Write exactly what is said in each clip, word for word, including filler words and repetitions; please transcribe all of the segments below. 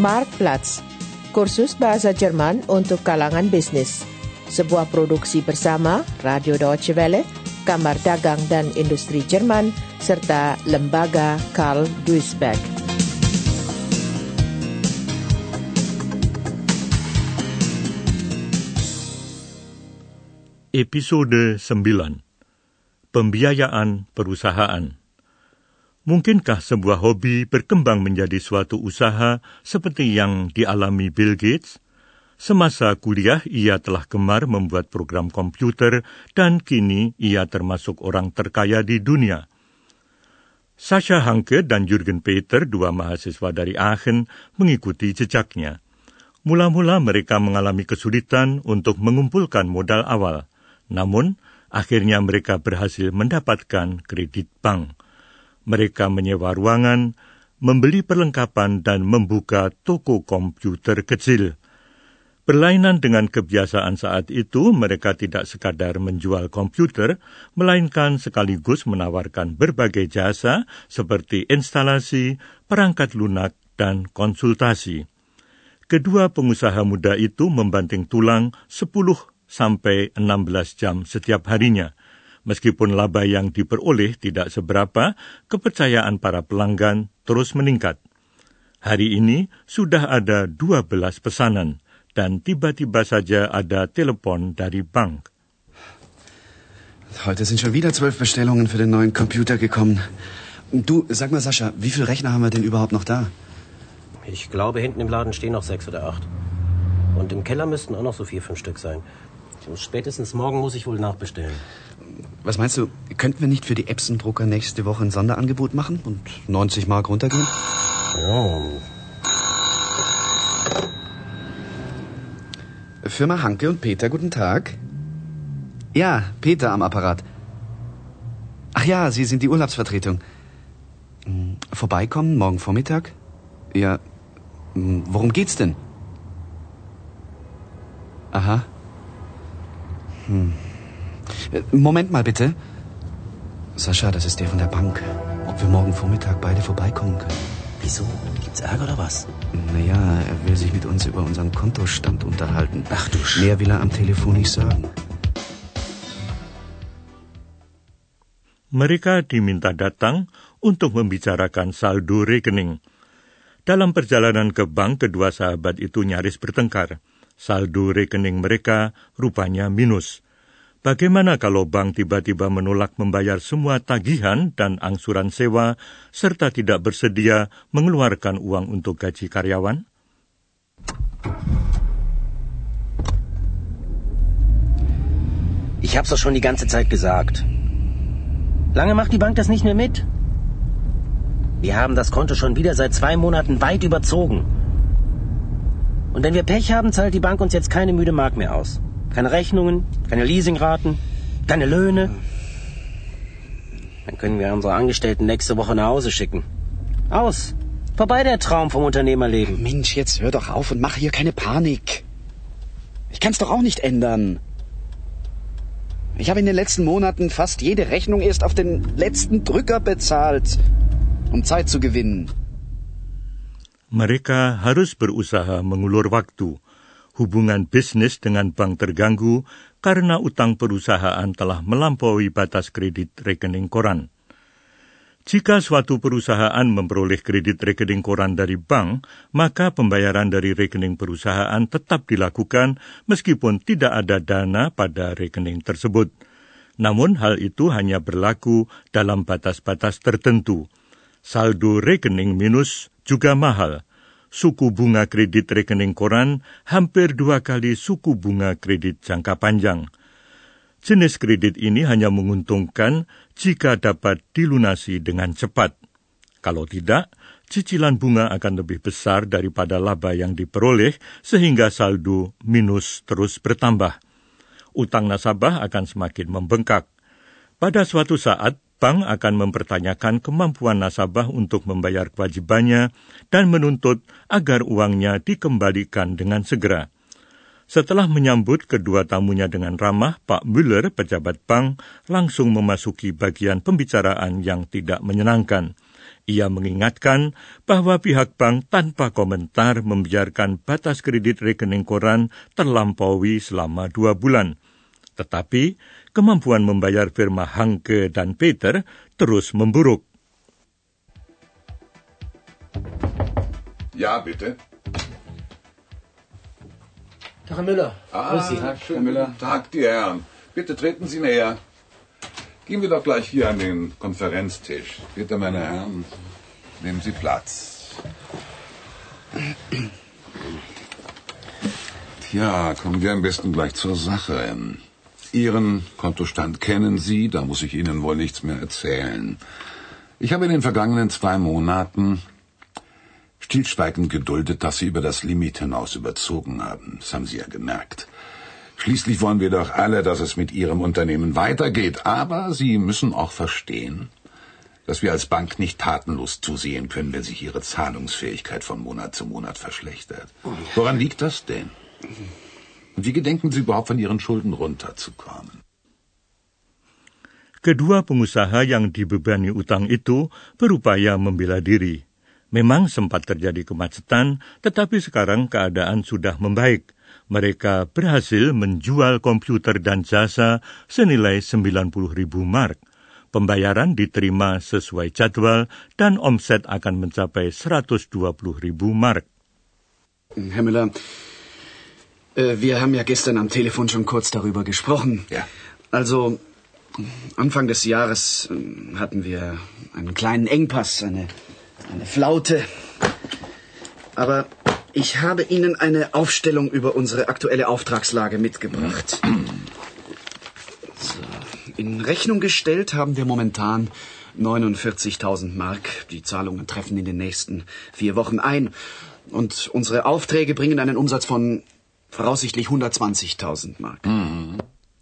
Marktplatz, kursus bahasa Jerman untuk kalangan bisnis. Sebuah produksi bersama Radio Deutsche Welle, Kamar Dagang dan Industri Jerman, serta Lembaga Karl Duisberg. Episode sembilan. Pembiayaan perusahaan. Mungkinkah sebuah hobi berkembang menjadi suatu usaha seperti yang dialami Bill Gates? Semasa kuliah, ia telah gemar membuat program komputer dan kini ia termasuk orang terkaya di dunia. Sascha Hanke dan Jürgen Peter, dua mahasiswa dari Aachen, mengikuti jejaknya. Mula-mula mereka mengalami kesulitan untuk mengumpulkan modal awal. Namun, akhirnya mereka berhasil mendapatkan kredit bank. Mereka menyewa ruangan, membeli perlengkapan, dan membuka toko komputer kecil. Berlainan dengan kebiasaan saat itu, mereka tidak sekadar menjual komputer, melainkan sekaligus menawarkan berbagai jasa seperti instalasi, perangkat lunak, dan konsultasi. Kedua pengusaha muda itu membanting tulang sepuluh sampai enam belas jam setiap harinya. Meskipun laba yang diperoleh tidak seberapa, kepercayaan para pelanggan terus meningkat. Hari ini sudah ada dua belas pesanan, dan tiba-tiba saja ada telepon dari bank. Heute sind schon wieder zwölf Bestellungen für den neuen Computer gekommen. Du, sag mal Sascha, wie viele Rechner haben wir denn überhaupt noch da? Ich glaube, hinten im Laden stehen noch sechs oder acht. Und im Keller müssten auch noch so vier, fünf Stück sein. Spätestens morgen muss ich wohl nachbestellen. Was meinst du, könnten wir nicht für die Epson-Drucker nächste Woche ein Sonderangebot machen und neunzig Mark runtergehen? Ja. Firma Hanke und Peter, guten Tag. Ja, Peter am Apparat. Ach ja, Sie sind die Urlaubsvertretung. Vorbeikommen morgen Vormittag? Ja, worum geht's denn? Aha. Hm. Moment mal bitte. Sascha, das ist der von der Bank. Ob wir morgen Vormittag beide vorbeikommen können? Wieso? Gibt's Ärger oder was? Naja, er will sich mit uns über unseren Kontostand unterhalten. Ach du Sch... Mehr will er am Telefon nicht sagen. Mereka diminta datang untuk membicarakan saldo rekening. Dalam perjalanan ke bank, kedua sahabat itu nyaris bertengkar. Saldo rekening mereka rupanya minus. Bagaimana kalau bank tiba-tiba menolak membayar semua tagihan dan angsuran sewa, serta tidak bersedia mengeluarkan uang untuk gaji karyawan? Ich hab's doch schon die ganze Zeit gesagt. Lange macht die Bank das nicht mehr mit. Wir haben das Konto schon wieder seit zwei Monaten weit überzogen. Und wenn wir Pech haben, zahlt die Bank uns jetzt keine müde Mark mehr aus. Keine Rechnungen, keine Leasingraten, keine Löhne. Dann können wir unsere Angestellten nächste Woche nach Hause schicken. Aus. Vorbei der Traum vom Unternehmerleben. Mensch, jetzt hör doch auf und mach hier keine Panik. Ich kann's doch auch nicht ändern. Ich habe in den letzten Monaten fast jede Rechnung erst auf den letzten Drücker bezahlt, um Zeit zu gewinnen. Mereka harus berusaha mengulur waktu. Hubungan bisnis dengan bank terganggu karena utang perusahaan telah melampaui batas kredit rekening koran. Jika suatu perusahaan memperoleh kredit rekening koran dari bank, maka pembayaran dari rekening perusahaan tetap dilakukan meskipun tidak ada dana pada rekening tersebut. Namun hal itu hanya berlaku dalam batas-batas tertentu. Saldo rekening minus juga mahal. Suku bunga kredit rekening koran hampir dua kali suku bunga kredit jangka panjang. Jenis kredit ini hanya menguntungkan jika dapat dilunasi dengan cepat. Kalau tidak, cicilan bunga akan lebih besar daripada laba yang diperoleh sehingga saldo minus terus bertambah. Utang nasabah akan semakin membengkak. Pada suatu saat, bank akan mempertanyakan kemampuan nasabah untuk membayar kewajibannya dan menuntut agar uangnya dikembalikan dengan segera. Setelah menyambut kedua tamunya dengan ramah, Pak Müller, pejabat bank, langsung memasuki bagian pembicaraan yang tidak menyenangkan. Ia mengingatkan bahwa pihak bank tanpa komentar membiarkan batas kredit rekening koran terlampaui selama dua bulan. Tetapi kemampuan membayar firma Hanke dan Peter terus memburuk. Ja, bitte. Tag, Herr Müller. Ah, Grüß Sie. Tag, Herr Müller. Tag, die Herren. Bitte treten Sie näher. Gehen wir doch gleich hier an den Konferenztisch. Bitte, meine Herren, nehmen Sie Platz. Tja, kommen wir am besten gleich zur Sache. Ihren Kontostand kennen Sie, da muss ich Ihnen wohl nichts mehr erzählen. Ich habe in den vergangenen zwei Monaten stillschweigend geduldet, dass Sie über das Limit hinaus überzogen haben. Das haben Sie ja gemerkt. Schließlich wollen wir doch alle, dass es mit Ihrem Unternehmen weitergeht. Aber Sie müssen auch verstehen, dass wir als Bank nicht tatenlos zusehen können, wenn sich Ihre Zahlungsfähigkeit von Monat zu Monat verschlechtert. Woran liegt das denn? Und wie gedenken Sie überhaupt, von Ihren Schulden runterzukommen? Kedua pengusaha yang dibebani utang itu berupaya membela diri. Memang sempat terjadi kemacetan, tetapi sekarang keadaan sudah membaik. Mereka berhasil menjual komputer dan jasa senilai sembilan puluh ribu mark. Pembayaran diterima sesuai jadwal dan omset akan mencapai seratus dua puluh ribu mark. Herr Müller, äh, wir haben ja gestern am Telefon schon kurz darüber gesprochen. Ja. Also, Anfang des Jahres äh, hatten wir einen kleinen Engpass, eine, eine Flaute. Aber ich habe Ihnen eine Aufstellung über unsere aktuelle Auftragslage mitgebracht. So. In Rechnung gestellt haben wir momentan neunundvierzigtausend Mark. Die Zahlungen treffen in den nächsten vier Wochen ein. Und unsere Aufträge bringen einen Umsatz von voraussichtlich hundertzwanzigtausend Mark. Mhm.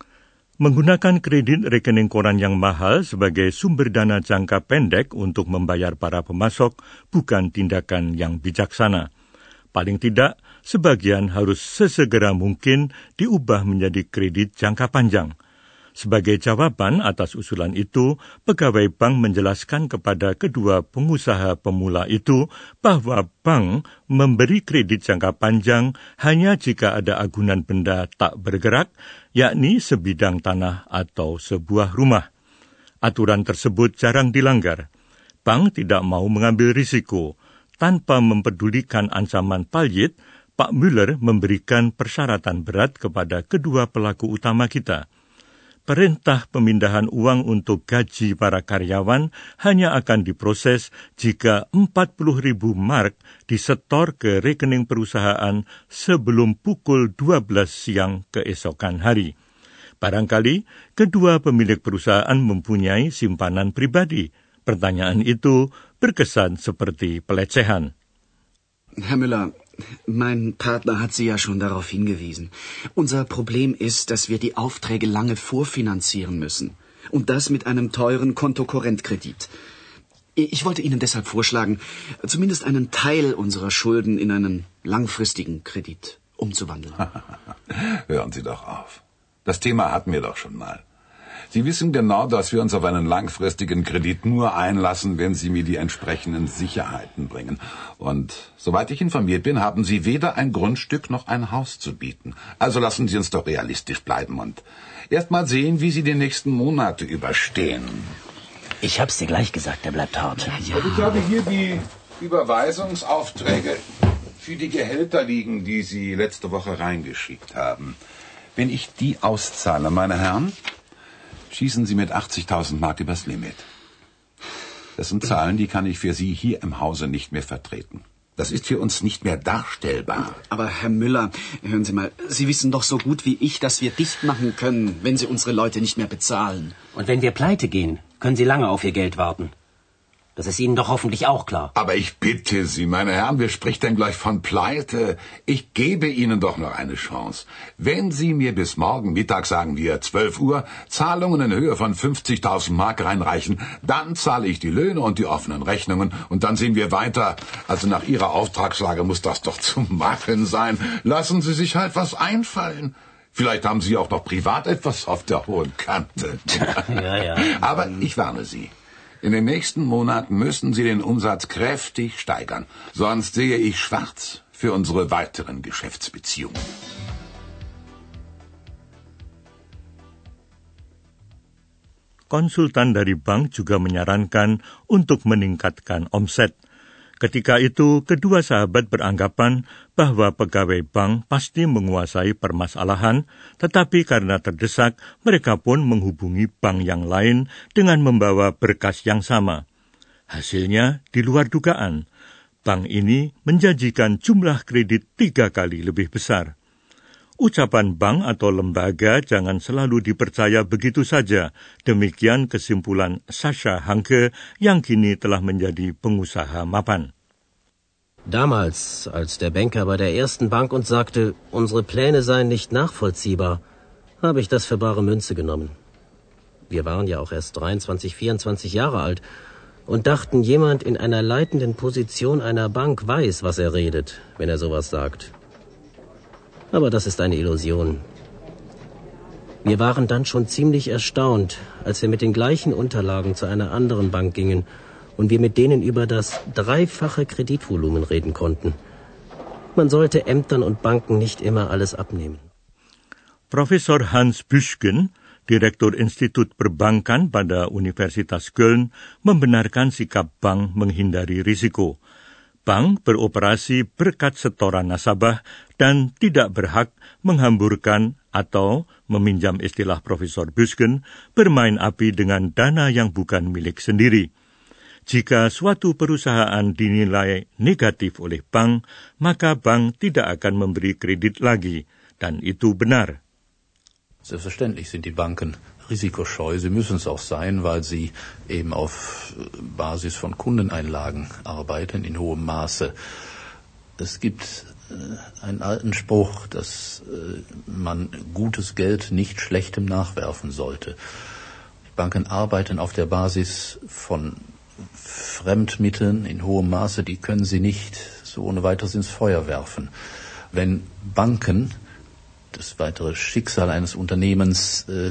Menggunakan kredit rekening koran yang mahal sebagai sumber dana jangka pendek untuk membayar para pemasok bukan tindakan yang bijaksana. Paling tidak, sebagian harus sesegera mungkin diubah menjadi kredit jangka panjang. Sebagai jawaban atas usulan itu, pegawai bank menjelaskan kepada kedua pengusaha pemula itu bahwa bank memberi kredit jangka panjang hanya jika ada agunan benda tak bergerak, yakni sebidang tanah atau sebuah rumah. Aturan tersebut jarang dilanggar. Bank tidak mau mengambil risiko. Tanpa mempedulikan ancaman paljit, Pak Müller memberikan persyaratan berat kepada kedua pelaku utama kita. Perintah pemindahan uang untuk gaji para karyawan hanya akan diproses jika empat puluh ribu mark disetor ke rekening perusahaan sebelum pukul dua belas siang keesokan hari. Barangkali kedua pemilik perusahaan mempunyai simpanan pribadi. Pertanyaan itu berkesan seperti pelecehan. Herr Müller, mein Partner hat Sie ja schon darauf hingewiesen. Unser Problem ist, dass wir die Aufträge lange vorfinanzieren müssen. Und das mit einem teuren Kontokorrentkredit. Ich wollte Ihnen deshalb vorschlagen, zumindest einen Teil unserer Schulden in einen langfristigen Kredit umzuwandeln. Hören Sie doch auf. Das Thema hatten wir doch schon mal. Sie wissen genau, dass wir uns auf einen langfristigen Kredit nur einlassen, wenn Sie mir die entsprechenden Sicherheiten bringen. Und soweit ich informiert bin, haben Sie weder ein Grundstück noch ein Haus zu bieten. Also lassen Sie uns doch realistisch bleiben und erst mal sehen, wie Sie die nächsten Monate überstehen. Ich hab's dir gleich gesagt, der bleibt hart. Ja, ja. Und ich habe hier die Überweisungsaufträge für die Gehälter liegen, die Sie letzte Woche reingeschickt haben. Wenn ich die auszahle, meine Herren, schießen Sie mit achtzigtausend Mark übers Limit. Das sind Zahlen, die kann ich für Sie hier im Hause nicht mehr vertreten. Das ist für uns nicht mehr darstellbar. Aber Herr Müller, hören Sie mal, Sie wissen doch so gut wie ich, dass wir dicht machen können, wenn Sie unsere Leute nicht mehr bezahlen. Und wenn wir pleite gehen, können Sie lange auf Ihr Geld warten. Das ist Ihnen doch hoffentlich auch klar. Aber ich bitte Sie, meine Herren, wer spricht denn gleich von Pleite? Ich gebe Ihnen doch noch eine Chance. Wenn Sie mir bis morgen Mittag, sagen wir zwölf Uhr, Zahlungen in Höhe von fünfzigtausend Mark reinreichen, dann zahle ich die Löhne und die offenen Rechnungen und dann sehen wir weiter. Also nach Ihrer Auftragslage muss das doch zu machen sein. Lassen Sie sich halt was einfallen. Vielleicht haben Sie auch noch privat etwas auf der hohen Kante. Ja, ja. Aber ich warne Sie. In den nächsten Monaten müssen Sie den Umsatz kräftig steigern, sonst sehe ich schwarz für unsere weiteren Geschäftsbeziehungen. Konsultan dari bank juga menyarankan untuk meningkatkan omset. Ketika itu, kedua sahabat beranggapan bahwa pegawai bank pasti menguasai permasalahan, tetapi karena terdesak, mereka pun menghubungi bank yang lain dengan membawa berkas yang sama. Hasilnya di luar dugaan. Bank ini menjanjikan jumlah kredit tiga kali lebih besar. Ucapan bank atau lembaga jangan selalu dipercaya begitu saja. Demikian kesimpulan Sascha Hanke yang kini telah menjadi pengusaha mapan. Damals, als der Banker bei der ersten Bank uns sagte, unsere Pläne seien nicht nachvollziehbar, habe ich das für bare Münze genommen. Wir waren ja auch erst dreiundzwanzig, vierundzwanzig Jahre alt und dachten, jemand in einer leitenden Position einer Bank weiß, was er redet, wenn er sowas sagt. Aber das ist eine Illusion. Wir waren dann schon ziemlich erstaunt, als wir mit den gleichen Unterlagen zu einer anderen Bank gingen und wir mit denen über das dreifache Kreditvolumen reden konnten. Man sollte Ämtern und Banken nicht immer alles abnehmen. Profesor Hans Büschgen, Direktur Institut Perbankan pada Universitas Köln, membenarkan sikap bank menghindari risiko. Bank beroperasi berkat setoran nasabah dan tidak berhak menghamburkan atau, meminjam istilah Profesor Büschgen, bermain api dengan dana yang bukan milik sendiri. Jika suatu perusahaan dinilai negatif oleh bank, maka bank tidak akan memberi kredit lagi, dan itu benar. Selbstverständlich sind die Banken risikoscheu. Sie müssen es auch sein, weil sie eben auf Basis von Kundeneinlagen arbeiten in hohem Maße. Es gibt einen alten Spruch, dass man gutes Geld nicht schlechtem nachwerfen sollte. Die Banken arbeiten auf der Basis von Fremdmitteln in hohem Maße, die können sie nicht so ohne weiteres ins Feuer werfen. Wenn Banken das weitere Schicksal eines Unternehmens äh,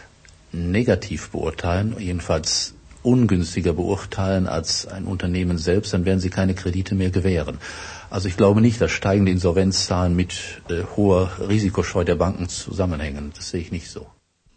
negativ beurteilen, jedenfalls ungünstiger beurteilen als ein Unternehmen selbst, dann werden sie keine Kredite mehr gewähren. Also ich glaube nicht, dass steigende Insolvenzzahlen mit äh, hoher Risikoscheu der Banken zusammenhängen. Das sehe ich nicht so.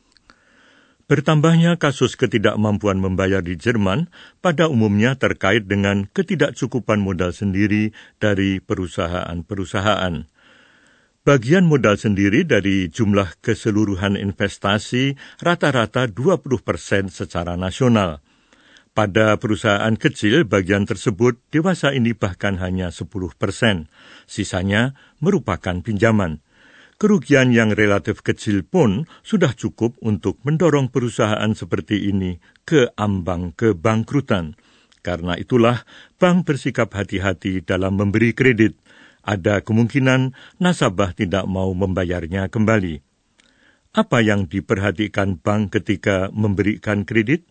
Bertambahnya kasus ketidakmampuan membayar di Jerman pada umumnya terkait dengan ketidakcukupan modal sendiri dari perusahaan-perusahaan. Bagian modal sendiri dari jumlah keseluruhan investasi rata-rata dua puluh persen secara nasional. Pada perusahaan kecil, bagian tersebut dewasa ini bahkan hanya sepuluh persen. Sisanya merupakan pinjaman. Kerugian yang relatif kecil pun sudah cukup untuk mendorong perusahaan seperti ini ke ambang kebangkrutan. Karena itulah, bank bersikap hati-hati dalam memberi kredit. Ada kemungkinan nasabah tidak mau membayarnya kembali. Apa yang diperhatikan bank ketika memberikan kredit?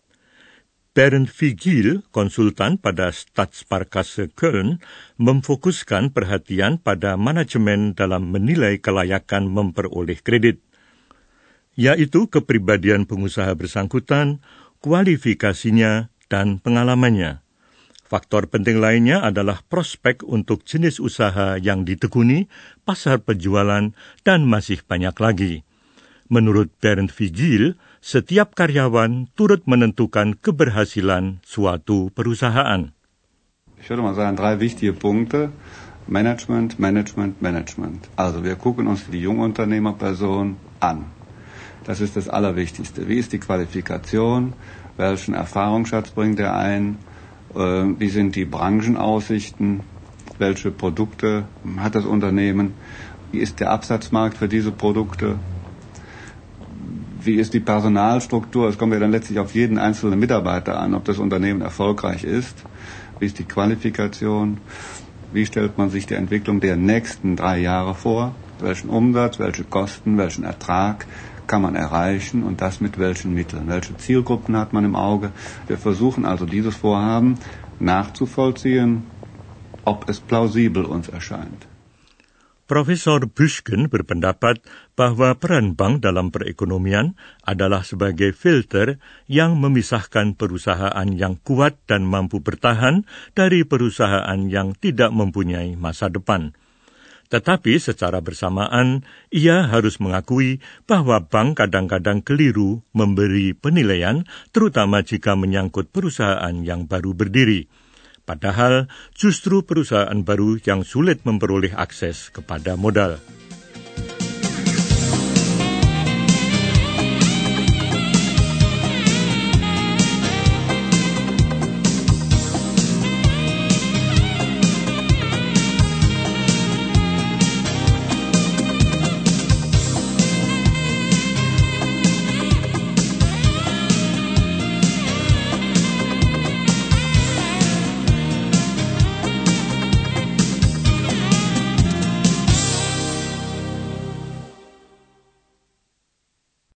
Bernd Vigil, konsultan pada Stadtsparkasse Köln, memfokuskan perhatian pada manajemen dalam menilai kelayakan memperoleh kredit, yaitu kepribadian pengusaha bersangkutan, kualifikasinya, dan pengalamannya. Faktor penting lainnya adalah prospek untuk jenis usaha yang ditekuni, pasar penjualan, dan masih banyak lagi. Menurut Bernd Vigil, setiap karyawan turut menentukan keberhasilan suatu perusahaan. Ich würde mal sagen, drei wichtige Punkte. Management, Management, Management. Also wir gucken uns die Jungunternehmerperson an. Das ist das Allerwichtigste. Wie ist die Qualifikation? Welchen Erfahrungsschatz bringt er ein? Wie sind die Branchenaussichten? Welche Produkte hat das Unternehmen? Wie ist der Absatzmarkt für diese Produkte? Wie ist die Personalstruktur? Es kommt ja dann letztlich auf jeden einzelnen Mitarbeiter an, ob das Unternehmen erfolgreich ist. Wie ist die Qualifikation? Wie stellt man sich die Entwicklung der nächsten drei Jahre vor? Welchen Umsatz, welche Kosten, welchen Ertrag kann man erreichen und das mit welchen Mitteln? Welche Zielgruppen hat man im Auge? Wir versuchen also dieses Vorhaben nachzuvollziehen, ob es plausibel uns erscheint. Profesor Bushkin berpendapat bahwa peran bank dalam perekonomian adalah sebagai filter yang memisahkan perusahaan yang kuat dan mampu bertahan dari perusahaan yang tidak mempunyai masa depan. Tetapi secara bersamaan, ia harus mengakui bahwa bank kadang-kadang keliru memberi penilaian, terutama jika menyangkut perusahaan yang baru berdiri. Padahal justru perusahaan baru yang sulit memperoleh akses kepada modal.